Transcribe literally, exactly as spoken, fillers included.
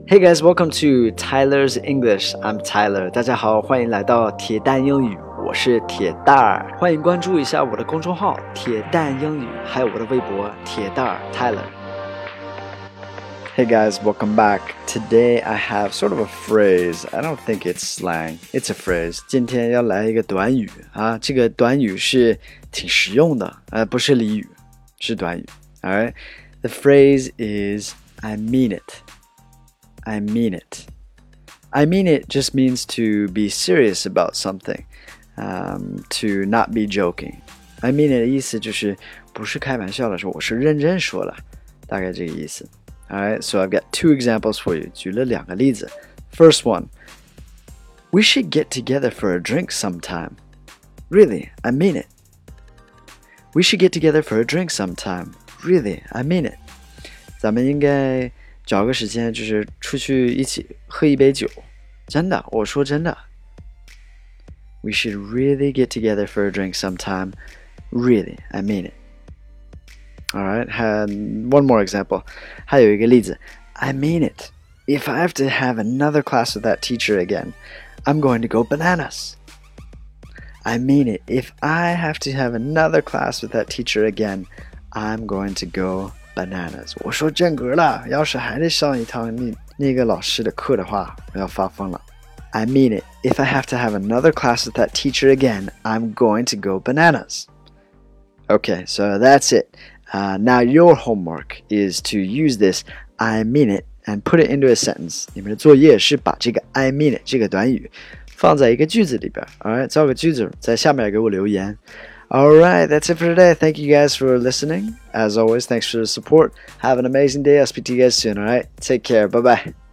Hey guys, welcome to Tyler's English. I'm Tyler. 大家好，欢迎来到铁蛋英语，我是铁蛋儿。欢迎关注一下我的公众号“铁蛋英语”，还有我的微博“铁蛋儿 Tyler”。Hey guys, welcome back. Today I have sort of a phrase. I don't think it's slang. It's a phrase. 今天要来一个短语啊，这个短语是挺实用的，呃，不是俚语，是短语。Alright, the phrase is I mean it.I mean it. I mean it just means to be serious about something, um, to not be joking. I mean it 的意思就是不是开玩笑的说，我是认真说了，大概这个意思。Alright, so I've got two examples for you. 举了两个例子。First one, we should get together for a drink sometime. Really, I mean it. We should get together for a drink sometime. Really, I mean it. 咱们应该找个时间，就是出去一起喝一杯酒，真的，我说真的。We should really get together for a drink sometime. Really, I mean it. Alright, and one more example. 还有一个例子 I mean it. If I have to have another class with that teacher again, I'm going to go bananas. I mean it. If I have to have another class with that teacher again, I'm going to go bananas. 我说正格了，要是还得上一堂那那个老师的课的话，我要发疯了。I mean it. If I have to have another class with that teacher again, I'm going to go bananas. Okay, so that's it. Uh, now your homework is to use this I mean it and put it into a sentence. 你们的作业是把这个 I mean it 这个短语放在一个句子里边。Alright, 造个句子，在下面给我留言。Alright, that's it for today. Thank you guys for listening. As always, thanks for the support. Have an amazing day. I'll speak to you guys soon, alright? Take care. Bye-bye.